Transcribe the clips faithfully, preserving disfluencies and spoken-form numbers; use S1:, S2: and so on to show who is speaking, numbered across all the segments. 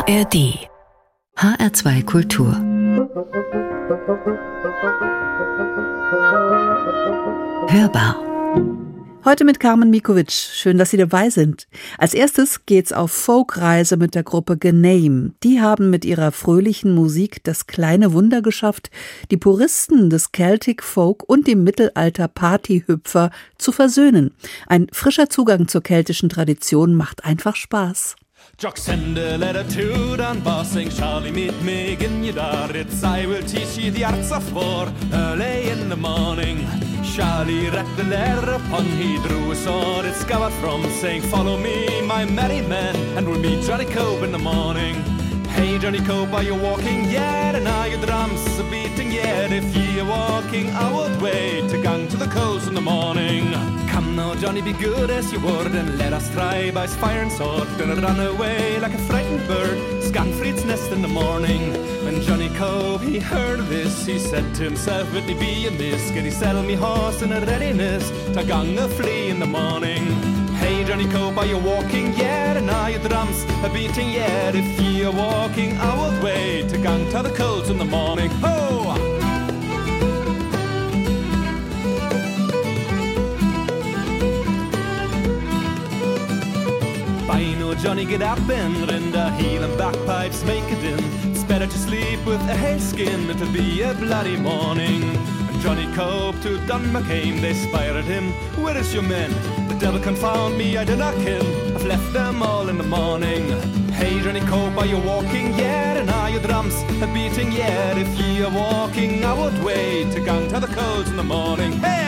S1: R D H R zwei Kultur Hörbar.
S2: Heute mit Carmen Mikovic. Schön, dass Sie dabei sind. Als erstes geht's auf Folkreise mit der Gruppe Gename. Die haben mit ihrer fröhlichen Musik das kleine Wunder geschafft, die Puristen des Celtic Folk und die Mittelalter-Partyhüpfer zu versöhnen. Ein frischer Zugang zur keltischen Tradition macht einfach Spaß.
S3: Jock send a letter to Dunbar, saying, Charlie, meet me in your door. It's I will teach you the arts of war early in the morning. Charlie read the letter upon, he drew a sword, it scourred from, saying, follow me, my merry men, and we'll meet Johnny Cope in the morning. Hey, Johnny Cope, are you walking yet? And are your drums a beating yet? If ye are walking outward way, to gang to the coast in the morning. Come now, Johnny, be good as you would, and let us try by fire and sword. Gonna run away like a frightened bird, Scanfried's nest in the morning. When Johnny Cope, he heard of this, he said to himself, would it be amiss? Can he saddle me horse in a readiness, to gang a flea in the morning? Hey, Johnny Cope, are you walking yet? And are your drums a beating yet? If ye are walking outward way, to gang to the coast in the morning. Ho! By no Johnny, get up and rend a heel and bagpipes make it in. It's better to sleep with a hare skin, it'll be a bloody morning. And Johnny Cope to Dunbar came, they spied him, where is your men? The devil confound me, I did not kill, I've left them all in the morning. Hey, Johnny Cope, are you walking yet? And are your drums a beating yet? If ye are walking outward way, to gang to the coast in the morning. Hey!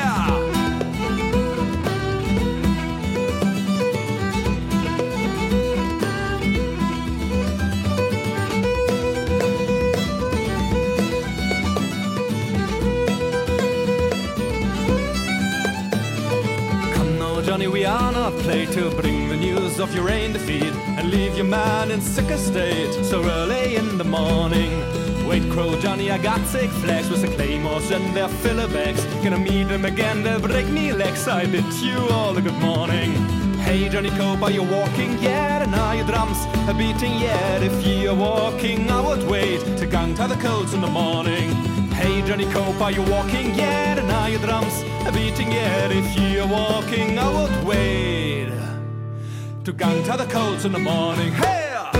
S3: Johnny, we are not played to bring the news of your rain defeat and leave your man in sick state so early in the morning. Wait, Crow Johnny, I got sick flags with the claymores and their filler bags. Gonna meet them again, they'll break me legs. I bid you all a good morning. Hey, Johnny Cope, are you walking yet? And are your drums a beating yet? If ye are walking, I would wait to gang to the coast in the morning. Hey, Johnny Cope, are you walking yet? And are your drums a beating yet? If ye are walking, I would wait to gang to the coast in the morning. Hey!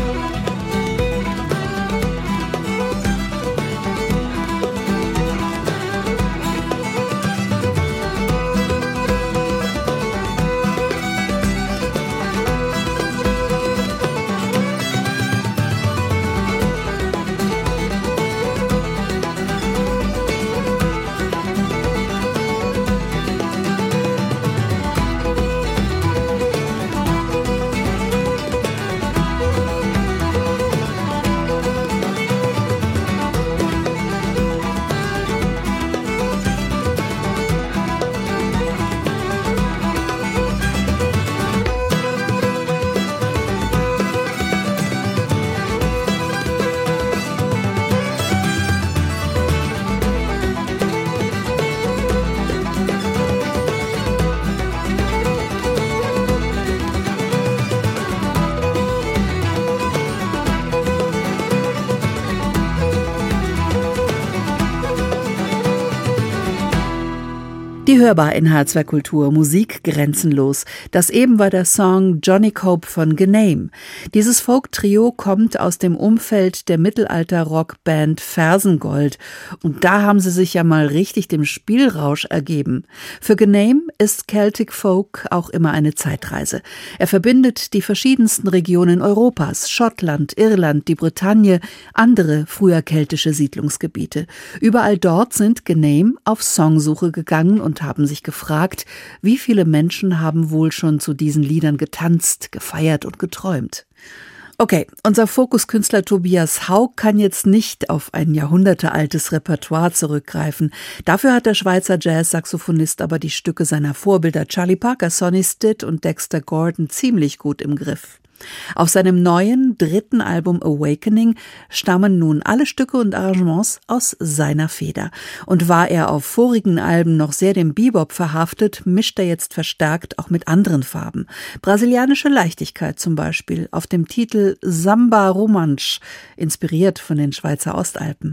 S2: Die Hörbar in H R zwei Kultur, Musik grenzenlos. Das eben war der Song Johnny Cope von Gename. Dieses Folk-Trio kommt aus dem Umfeld der Mittelalter-Rockband Fersengold. Und da haben sie sich ja mal richtig dem Spielrausch ergeben. Für Gename ist Celtic Folk auch immer eine Zeitreise. Er verbindet die verschiedensten Regionen Europas, Schottland, Irland, die Bretagne, andere früher keltische Siedlungsgebiete. Überall dort sind Gename auf Songsuche gegangen und haben sich gefragt, wie viele Menschen haben wohl schon zu diesen Liedern getanzt, gefeiert und geträumt. Okay, unser Fokuskünstler Tobias Haug kann jetzt nicht auf ein jahrhundertealtes Repertoire zurückgreifen. Dafür hat der Schweizer Jazz-Saxophonist aber die Stücke seiner Vorbilder Charlie Parker, Sonny Stitt und Dexter Gordon ziemlich gut im Griff. Auf seinem neuen, dritten Album Awakening stammen nun alle Stücke und Arrangements aus seiner Feder. Und war er auf vorigen Alben noch sehr dem Bebop verhaftet, mischt er jetzt verstärkt auch mit anderen Farben. Brasilianische Leichtigkeit zum Beispiel auf dem Titel Samba Romansch, inspiriert von den Schweizer Ostalpen.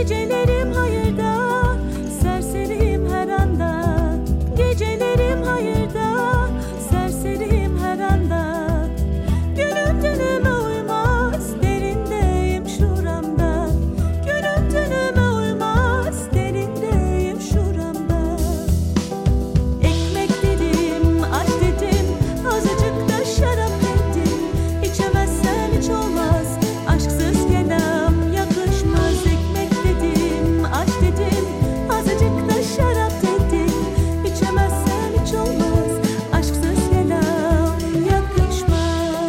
S4: Gecelerim hayırda, serseriyim her anda. Gecelerim hayırda, serseriyim her anda. Günüm dünüme uymaz, derindeyim şuramda. Günüm dünüme uymaz, derindeyim şuramda. Ekmek dedim, aç dedim, azıcık da şarap dedim. İçemezsen hiç olmaz, aşksız kelam yakışmaz. Ekmek dedim, aç dedim, azıcık da şarap dedim. İçemezsen hiç olmaz, aşksız kelam yakışmaz.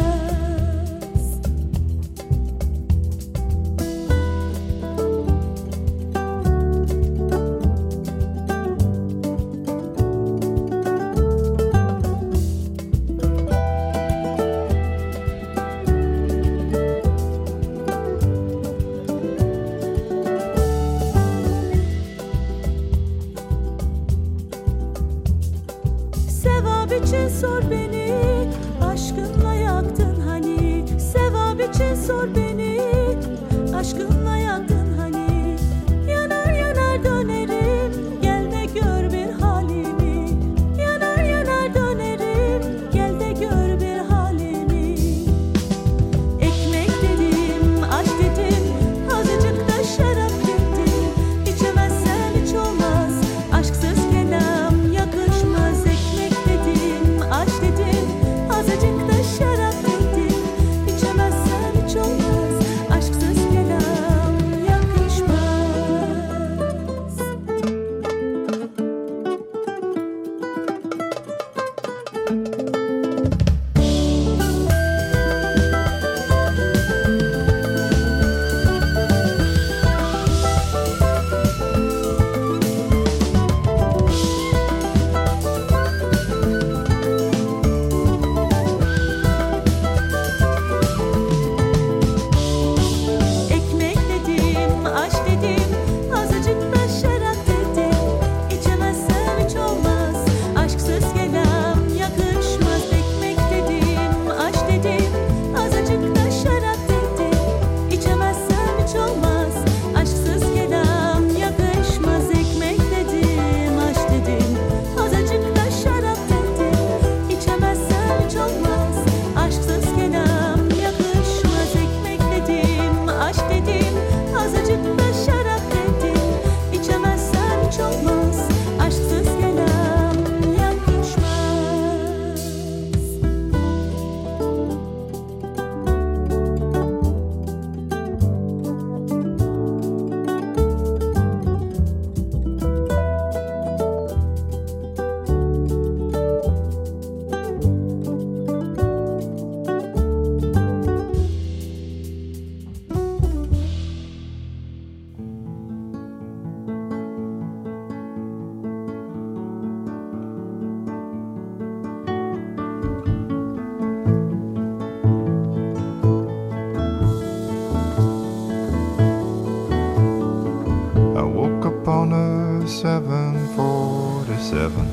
S4: Sevap için sor beni, aşkınla yaktın hani. Sevap için sor beni, aşkınla yaktın hani. Yanar yanar dönerim, gel de gör bir halimi. Yanar yanar dönerim, gel de gör bir halimi. Ekmek dedim, aç dedim, azıcık da şarap dedim. İçemezsen hiç olmaz, aşksız kelam yakışmaz. Ekmek dedim, aç dedim, azıcık da şarap dedim. İçemezsen hiç olmaz, aşksız kelam yakışmaz. Ekmek dedim, aç dedim, azıcık da şarap dedim. İçemezsen hiç olmaz, aşksız kelam yakışmaz. Ekmek dedim, aç dedim, azıcık da şarap dedim. İçemezsen hiç olmaz, aşksız kelam yakışmaz. Ekmek dedim, aç dedim, azıcık da şarap dedim. İçemezsen hiç olmaz, aşksız kelam yakışmaz. Ekmek dedim, aç dedim, azıcık da şarap dedim. İçemezsen hiç olmaz, aşksız kelam yakışmaz.
S5: I woke up on a seven forty-seven,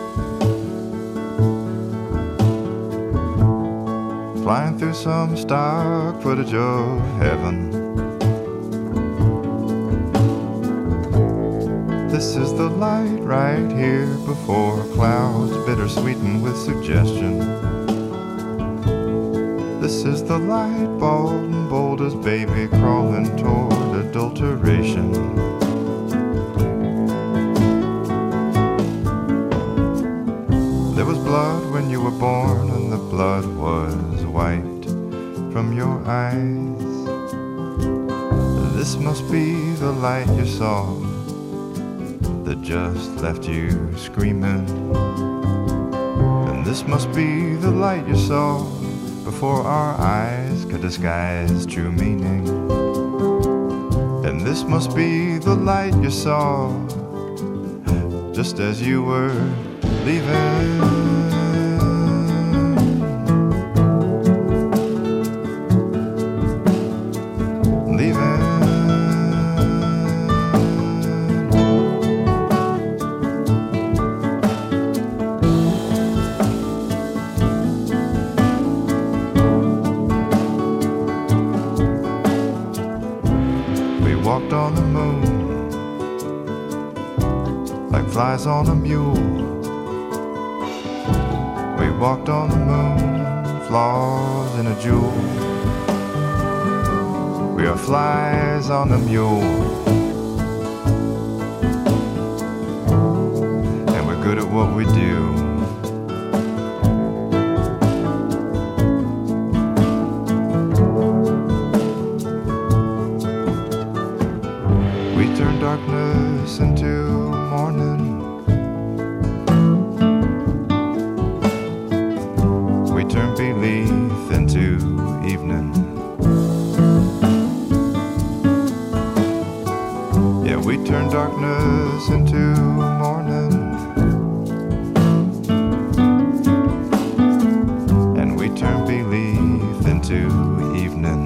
S5: flying through some stock footage of heaven. This is the light right here before clouds, bittersweetened with suggestion. This is the light, bald and bold as baby crawling toward adulteration. There was blood when you were born, and the blood was wiped from your eyes. This must be the light you saw that just left you screaming. And this must be the light you saw before our eyes could disguise true meaning. And this must be the light you saw just as you were leaving. We We walked on the moon like flies on a mule. We walked on the moon, flaws in a jewel. We are flies on the mule, and we're good at what we do. We turn darkness into morning. We turn belief into evening. Yeah, we turn darkness into morning. And we turn belief into evening.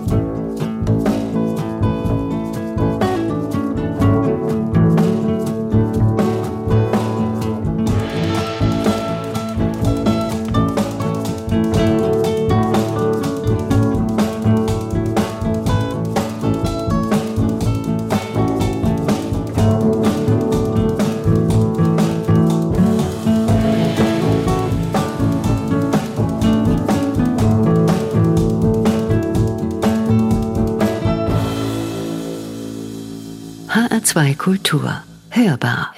S1: H R zwei Kultur. Hörbar.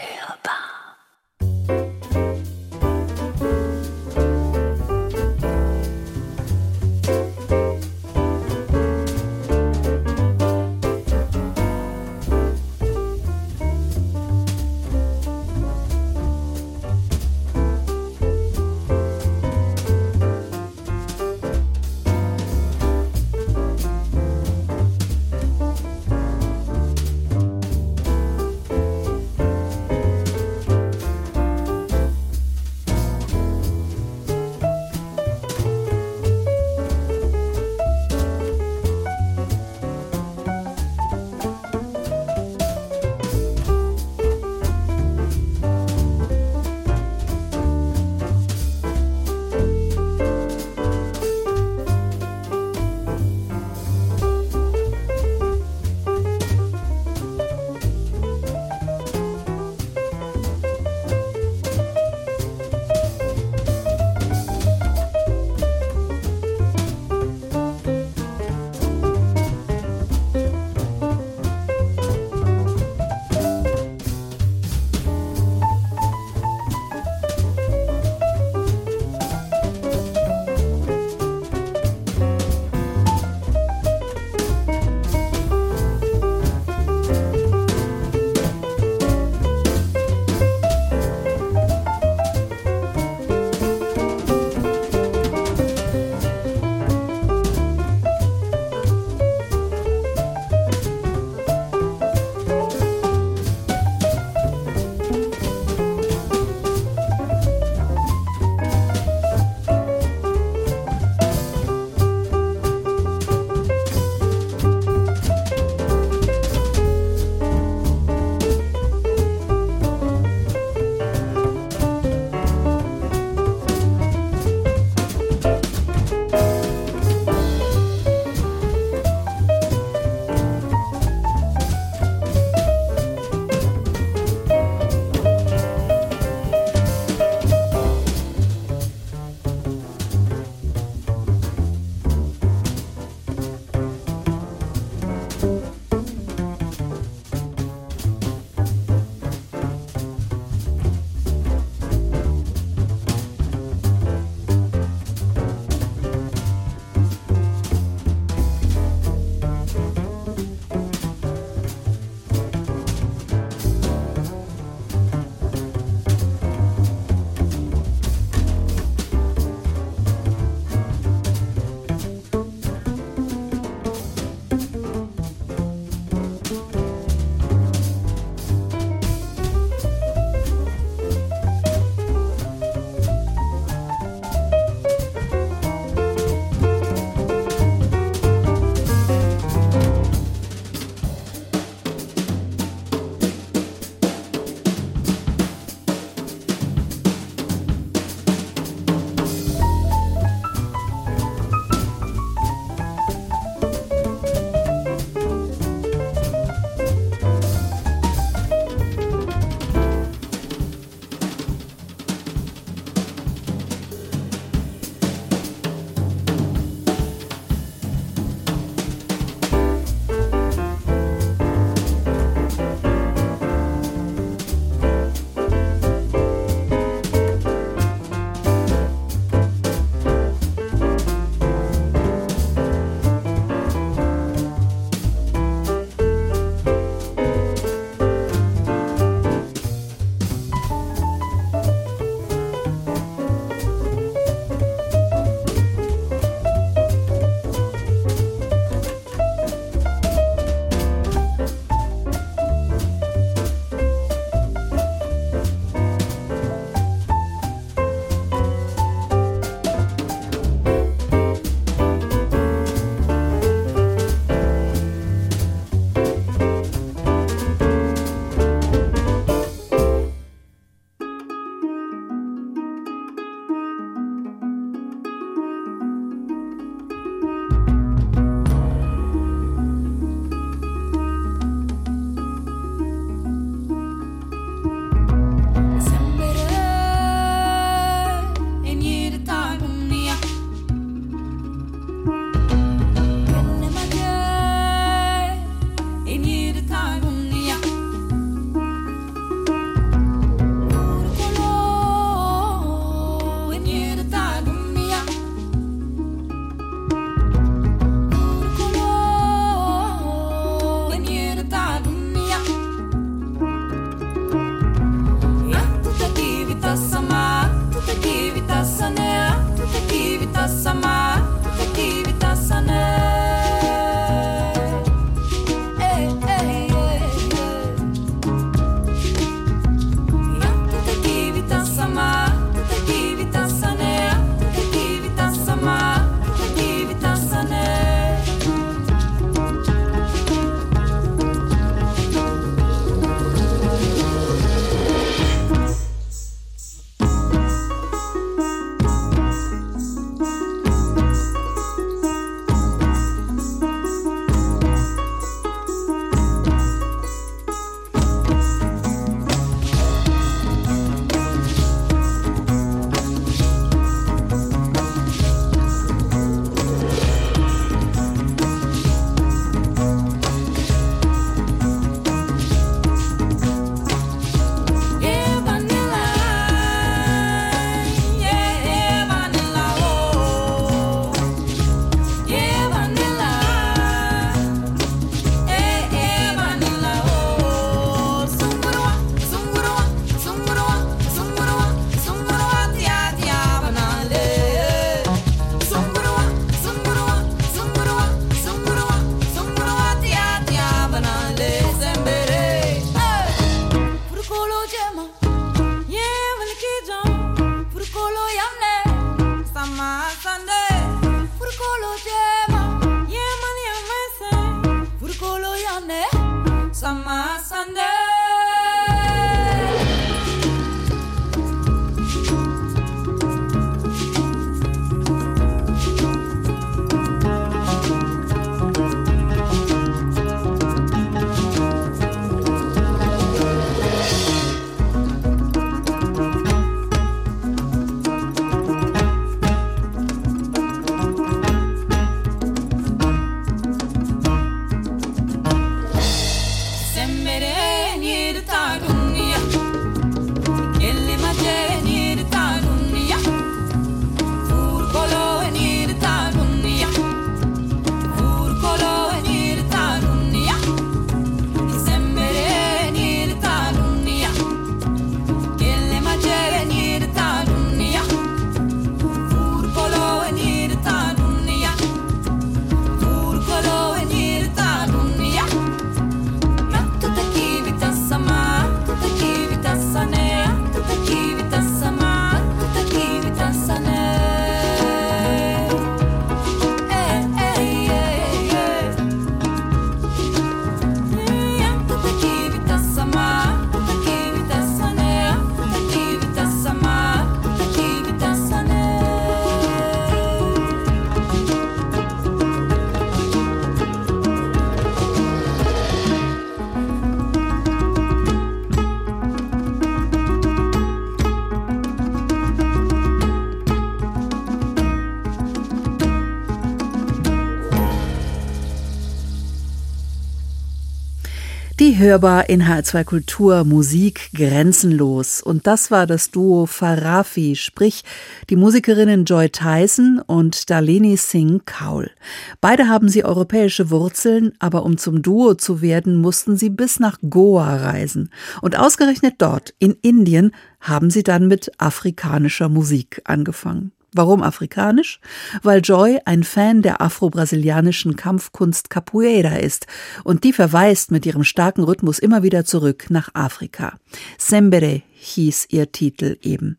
S2: Die hörbar in H R zwei Kultur, Musik grenzenlos. Und das war das Duo Farafi, sprich die Musikerinnen Joy Tyson und Darlene Singh Kaul. Beide haben sie europäische Wurzeln, aber um zum Duo zu werden, mussten sie bis nach Goa reisen. Und ausgerechnet dort, in Indien, haben sie dann mit afrikanischer Musik angefangen. Warum afrikanisch? Weil Joy ein Fan der afro-brasilianischen Kampfkunst Capoeira ist und die verweist mit ihrem starken Rhythmus immer wieder zurück nach Afrika. Sembere hieß ihr Titel eben.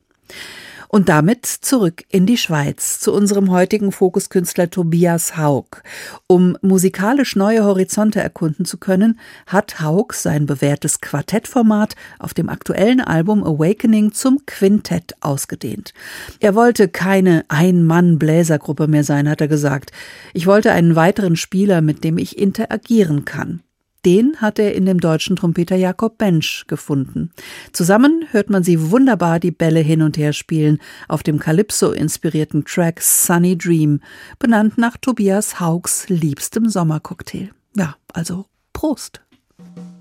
S2: Und damit zurück in die Schweiz, zu unserem heutigen Fokuskünstler Tobias Haug. Um musikalisch neue Horizonte erkunden zu können, hat Haug sein bewährtes Quartettformat auf dem aktuellen Album Awakening zum Quintett ausgedehnt. Er wollte keine Ein-Mann-Bläsergruppe mehr sein, hat er gesagt. Ich wollte einen weiteren Spieler, mit dem ich interagieren kann. Den hat er in dem deutschen Trompeter Jakob Bensch gefunden. Zusammen hört man sie wunderbar die Bälle hin und her spielen auf dem Calypso-inspirierten Track Sunny Dream, benannt nach Tobias Haugs liebstem Sommercocktail. Ja, also Prost!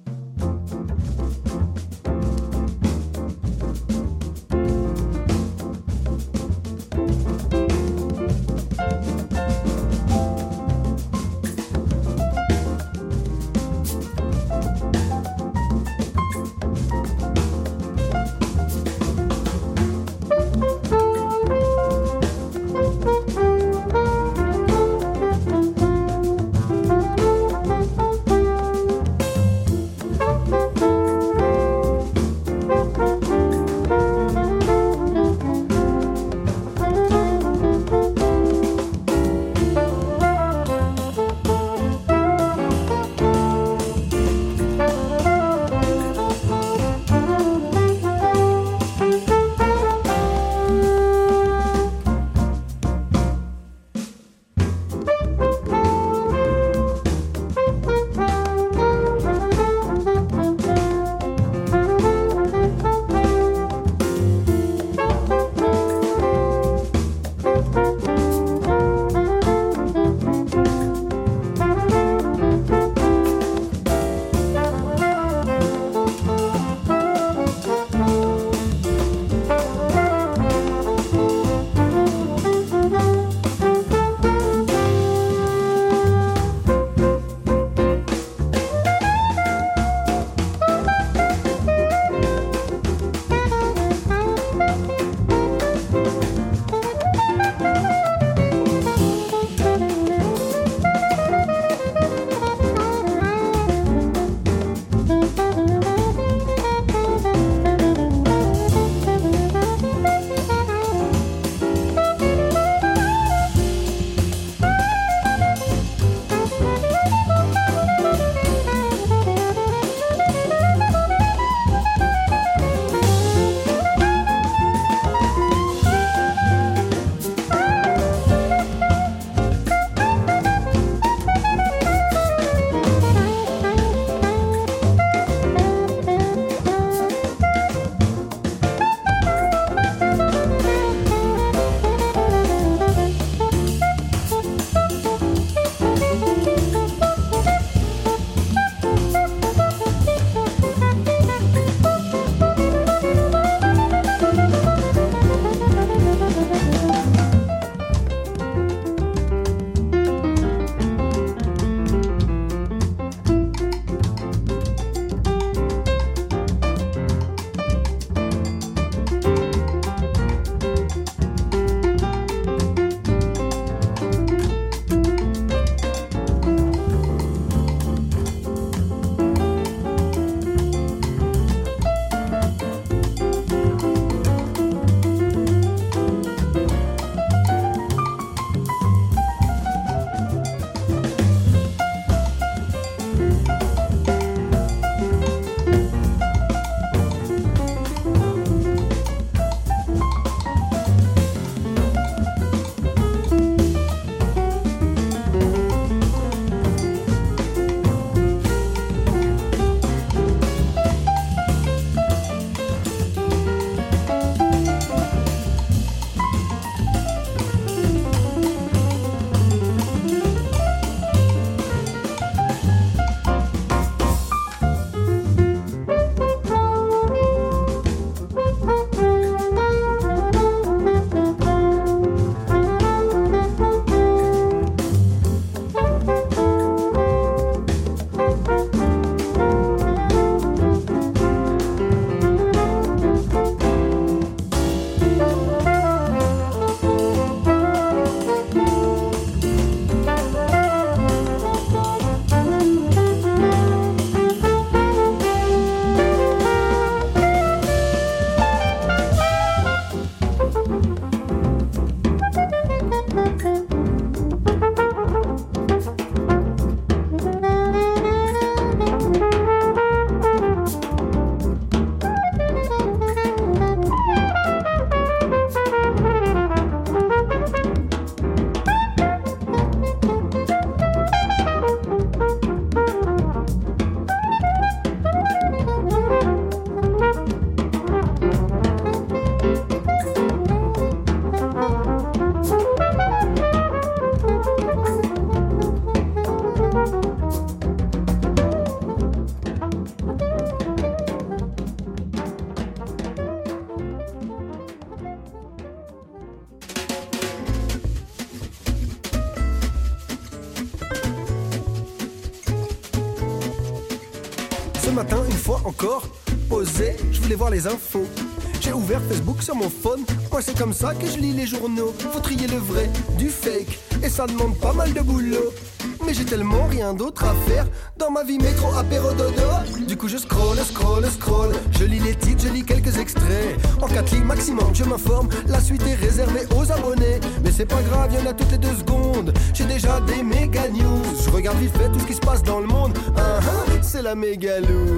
S6: Ce matin, une fois encore, posé, je voulais voir les infos. J'ai ouvert Facebook sur mon phone. Moi c'est comme ça que je lis les journaux. Faut trier le vrai du fake, et ça demande pas mal de boulot. Mais j'ai tellement rien d'autre à faire dans ma vie métro apéro dodo. Du coup je scroll, scroll, scroll. Je lis les titres, je lis quelques extraits. En quatre lignes maximum, je m'informe. La suite est réservée aux abonnés. Mais c'est pas grave, y'en a toutes les deux secondes. J'ai déjà des méga news. Je regarde vite fait tout ce qui se passe dans le monde. Uh-huh, c'est la mégalou.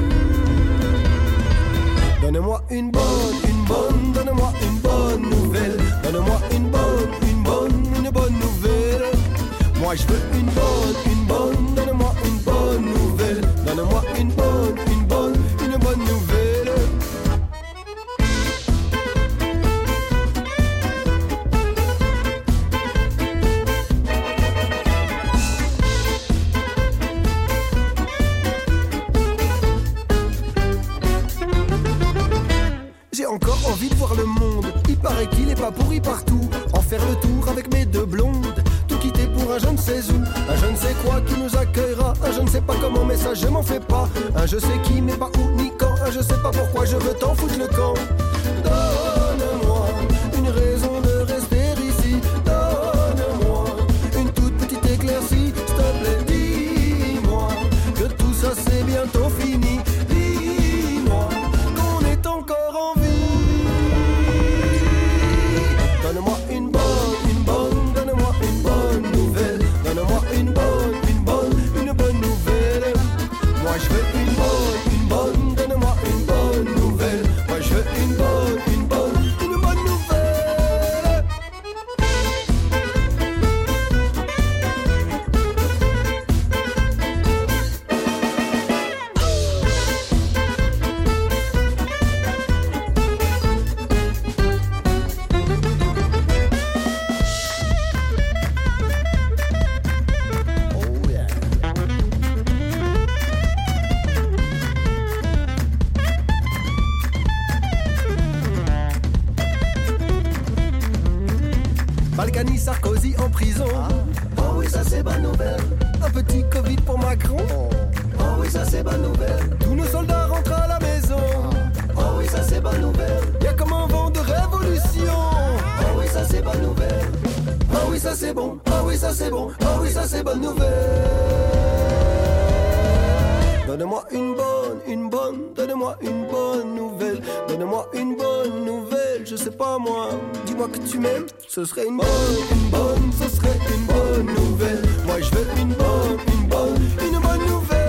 S6: Donne-moi une bonne, une bonne, donne-moi une bonne nouvelle. Donne-moi une bonne, une bonne, une bonne nouvelle. Moi je veux une bonne, une bonne, donne-moi une bonne nouvelle. Donne-moi une bonne, une bonne, une bonne nouvelle. J'ai encore envie de voir le monde. Il paraît qu'il est pas pourri partout. En faire le tour avec mes deux blondes. Tout quitter pour un je ne sais où. Un je ne sais quoi qui nous accueillera. Un je ne sais pas comment mais ça je m'en fais pas. Un je sais qui mais pas où ni quand. Un je sais pas pourquoi je veux t'en foutre le camp. Donne-moi une raison de rester ici. Donne-moi une toute petite éclaircie. S'il te plaît dis-moi que tout ça c'est bientôt fini. Dis-moi qu'on est encore en vie. Donne-moi une bonne, une bonne, donne-moi une bonne nouvelle. Donne-moi une bonne, une bonne, une bonne nouvelle. Moi je veux une bonne, une bonne, donne-moi une bonne nouvelle. Moi je veux une bonne, une bonne, une bonne nouvelle. Balkany, Sarkozy en prison. Oh oui, ça c'est bonne nouvelle. Un petit Covid pour Macron. Oh oui, ça c'est bonne nouvelle. Tous nos soldats rentrent à la maison. Oh oui, ça c'est bonne nouvelle. Y'a comme un vent de révolution. Oh oui, ça c'est bonne nouvelle. Oh oui, ça c'est bon. Oh oui, ça c'est bon. Oh oui, ça c'est bonne nouvelle. Donne-moi une bonne, une bonne, donne-moi une bonne nouvelle. Donne-moi une bonne nouvelle, je sais pas moi. Dis-moi que tu m'aimes, ce serait une bonne, une bonne, ce serait une bonne nouvelle. Moi je veux une bonne, une bonne, une bonne nouvelle.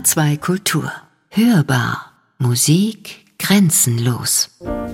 S1: zwei Kultur. Hörbar. Musik grenzenlos.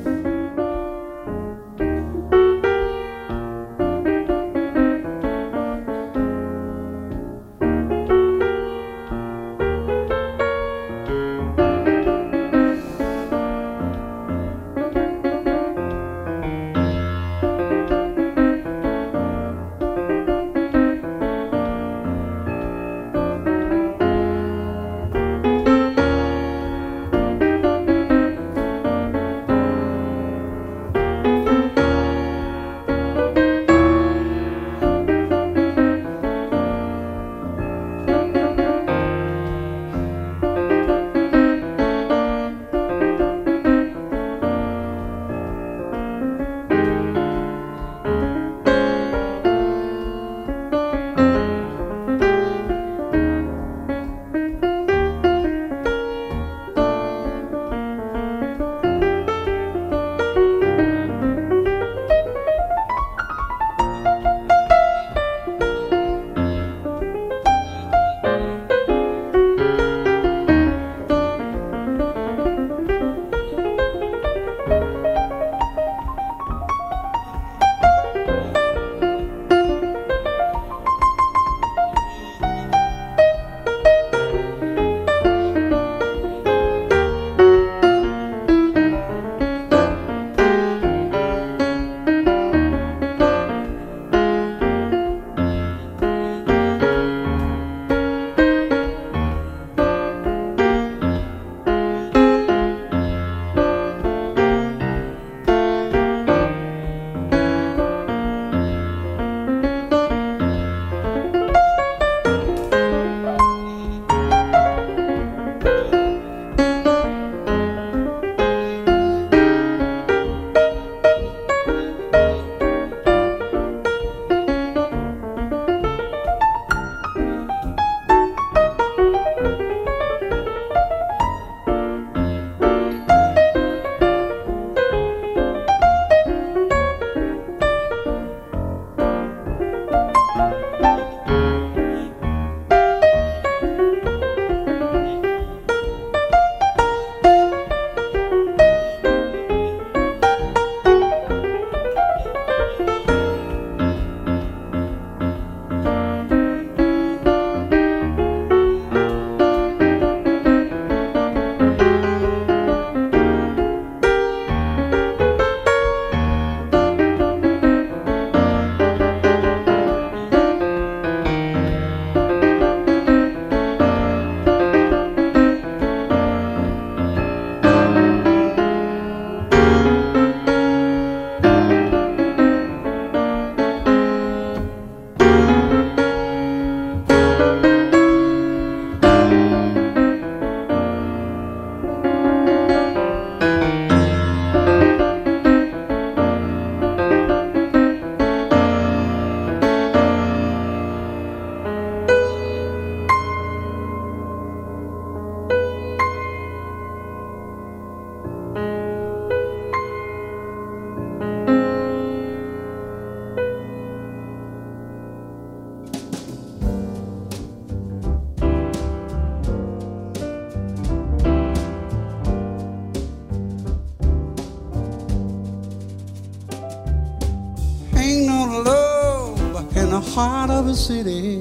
S7: heart of a city.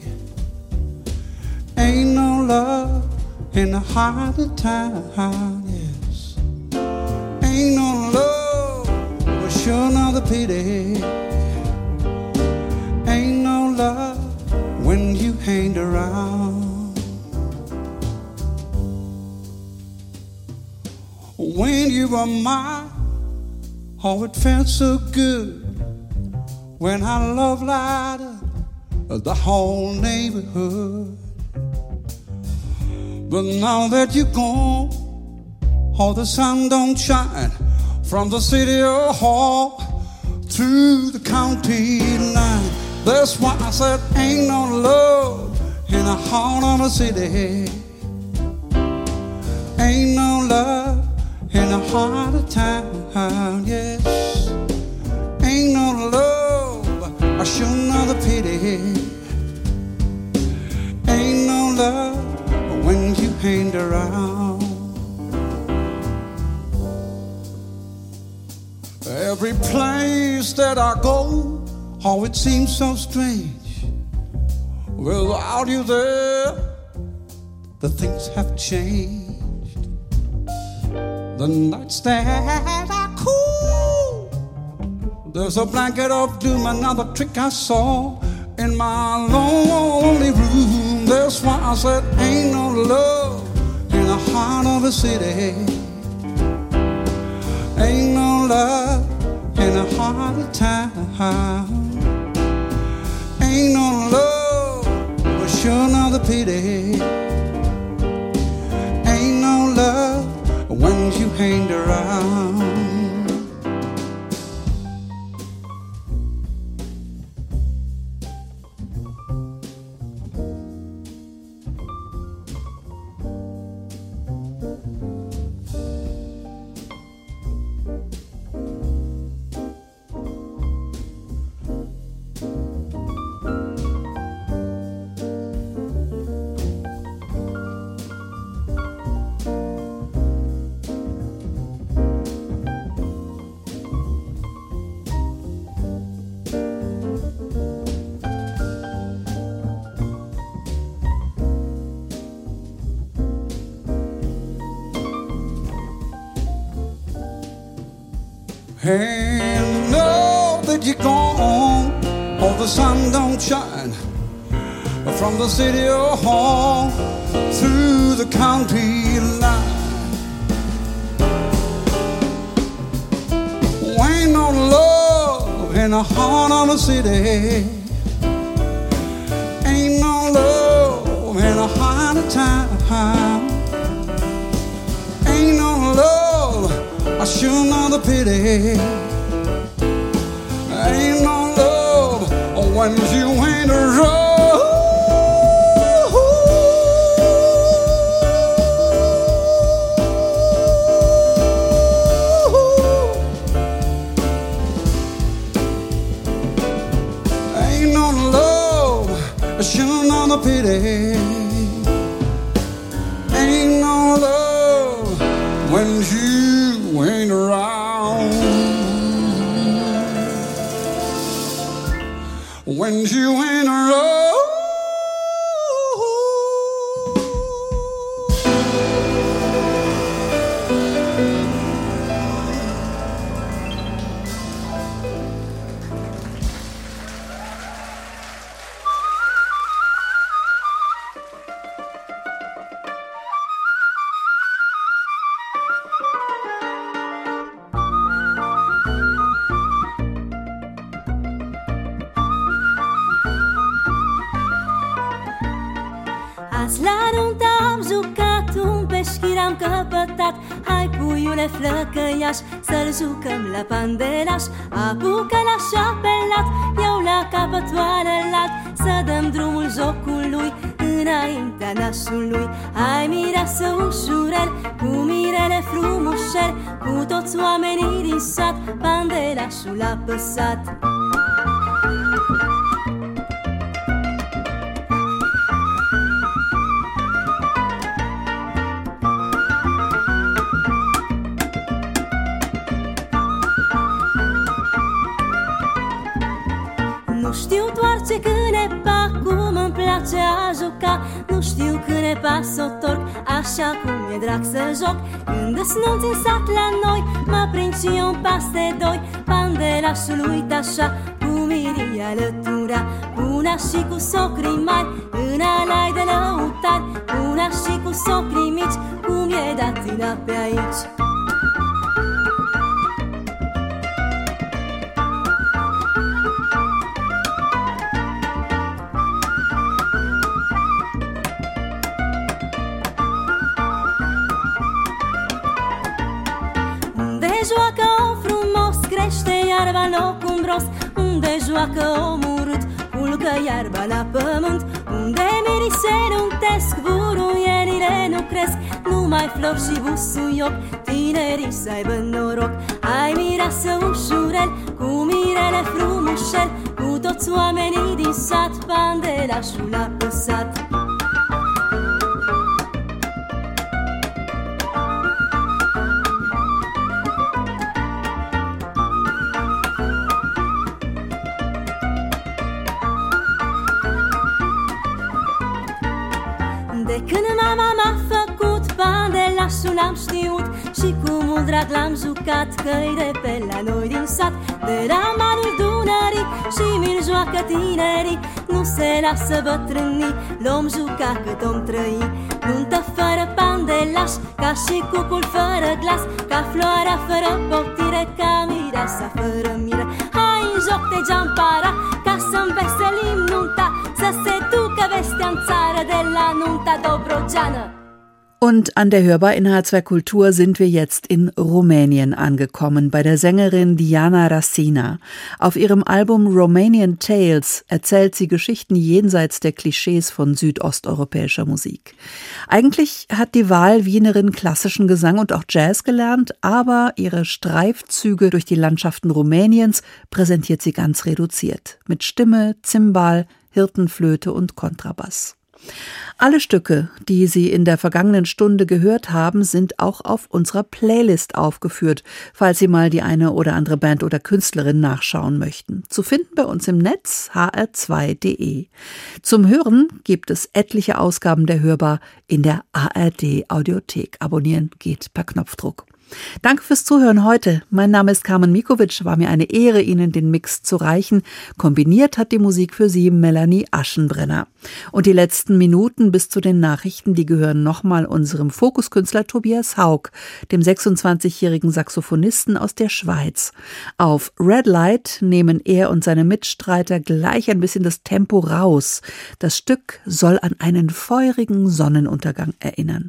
S7: Ain't no love in the heart of town, yes. Ain't no love, but sure not a pity. Ain't no love when you hang around. When you were mine, oh, it felt so good. When our love lighted up the whole neighborhood. But now that you're gone, oh, the sun don't shine from the city hall to the county line. That's why I said ain't no love in the heart of the city. Ain't no love in the heart of town, yes. Ain't no love, I sure not a pity. Ain't no love when you hang around. Every place that I go, oh, it seems so strange. Without you there, the things have changed. The nights that are cool, there's a blanket of doom, another trick I saw in my lonely room. That's why I said ain't no love in the heart of the city. Ain't no love in the heart of town. Ain't no love, but sure not the pity. Ain't no love when you hang around. And know that you're gone, oh, the sun don't shine from the city hall through the county line. Ain't no love in the heart of the city. Ain't no love in the heart of town. Ain't no love, I sure know the pity. Ain't no love when you ain't around. Ain't no love, I sure know the pity. Ain't no love when you ain't around. When you ain't around.
S4: Azi la nuntă am jucat un peșchir, am căpătat. Hai puiule flăcăiaș, să-l jucăm la pandelaș. Apucă la șapelat, eu la capătoare lat. Să dăm drumul jocului înaintea nașului. Hai mireasă ușurel, cu mirele frumușel, cu toți oamenii din sat, pandelașul a păsat. Nu știu doar ce cânepa, cum îmi place a juca. Nu știu cânepa s-o torc, așa cum e drag să joc. Când-s nunți în sat la noi, mă prind și eu un pas de doi. Pandelașul uit așa, cu mirii alătura. Una și cu socrii mari, în alai de lăutari. Una și cu socrii mici, cum e datina pe aici. Joacă o frumos, crește iarba în loc umbros. Unde joacă omul urât, culcă iarba la pământ. Unde mirii se untesc, buruienile nu cresc. Numai flori și busuioc, tinerii să aibă noroc. Ai mireasă ușurel, cu mirele frumușel, cu toți oamenii din sat, pandelașul a păsat. n-am știut și cu mult drag l-am jucat, că-i de pe la noi din sat, de la malul Dunării și mi-l joacă tinerii. Nu se lasă bătrânii, l-om juca cât om trăi. Nuntă fără pandelaș, ca și cucul fără glas, ca floarea fără poptire, ca mireasa fără mire. Hai în joc de geampara, ca să-mi veselim nunta, să se ducă vestea în țară de la nunta dobrogeană.
S2: Und an der Hörbar in H zwei Kultur sind wir jetzt in Rumänien angekommen, bei der Sängerin Diana Rasina. Auf ihrem Album Romanian Tales erzählt sie Geschichten jenseits der Klischees von südosteuropäischer Musik. Eigentlich hat die Wahl-Wienerin klassischen Gesang und auch Jazz gelernt, aber ihre Streifzüge durch die Landschaften Rumäniens präsentiert sie ganz reduziert. Mit Stimme, Zimbal, Hirtenflöte und Kontrabass. Alle Stücke, die Sie in der vergangenen Stunde gehört haben, sind auch auf unserer Playlist aufgeführt, falls Sie mal die eine oder andere Band oder Künstlerin nachschauen möchten. Zu finden bei uns im Netz h r zwei punkt d e. Zum Hören gibt es etliche Ausgaben der Hörbar in der A R D-Audiothek. Abonnieren geht per Knopfdruck. Danke fürs Zuhören heute. Mein Name ist Carmen Mikovic. War mir eine Ehre, Ihnen den Mix zu reichen. Kombiniert hat die Musik für Sie Melanie Aschenbrenner. Und die letzten Minuten bis zu den Nachrichten, die gehören nochmal unserem Fokuskünstler Tobias Haug, dem sechsundzwanzigjährigen Saxophonisten aus der Schweiz. Auf Red Light nehmen er und seine Mitstreiter gleich ein bisschen das Tempo raus. Das Stück soll an einen feurigen Sonnenuntergang erinnern.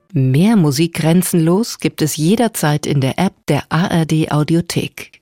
S1: Mehr Musik grenzenlos gibt es jederzeit in der App der A R D Audiothek.